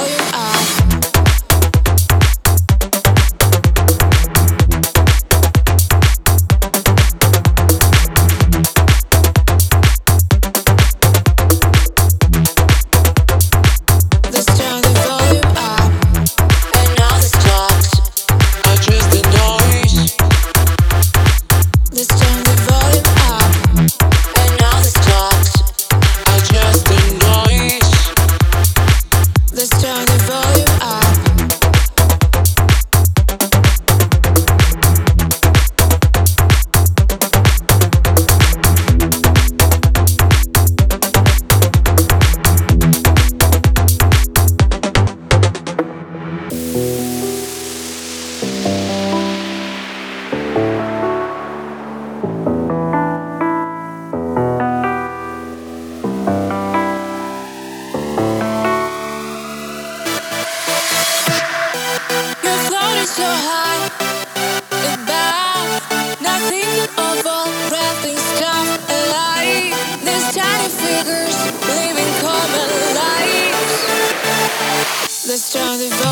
volume up. Let's turn the volume up. And all the talks are just the noise. Let's turn the volume up. And all the talks are just the noise. Let's turn the volume up. You're floating so high above, nothing overwhelming things come alive. These tiny figures living common lives. Let's turn the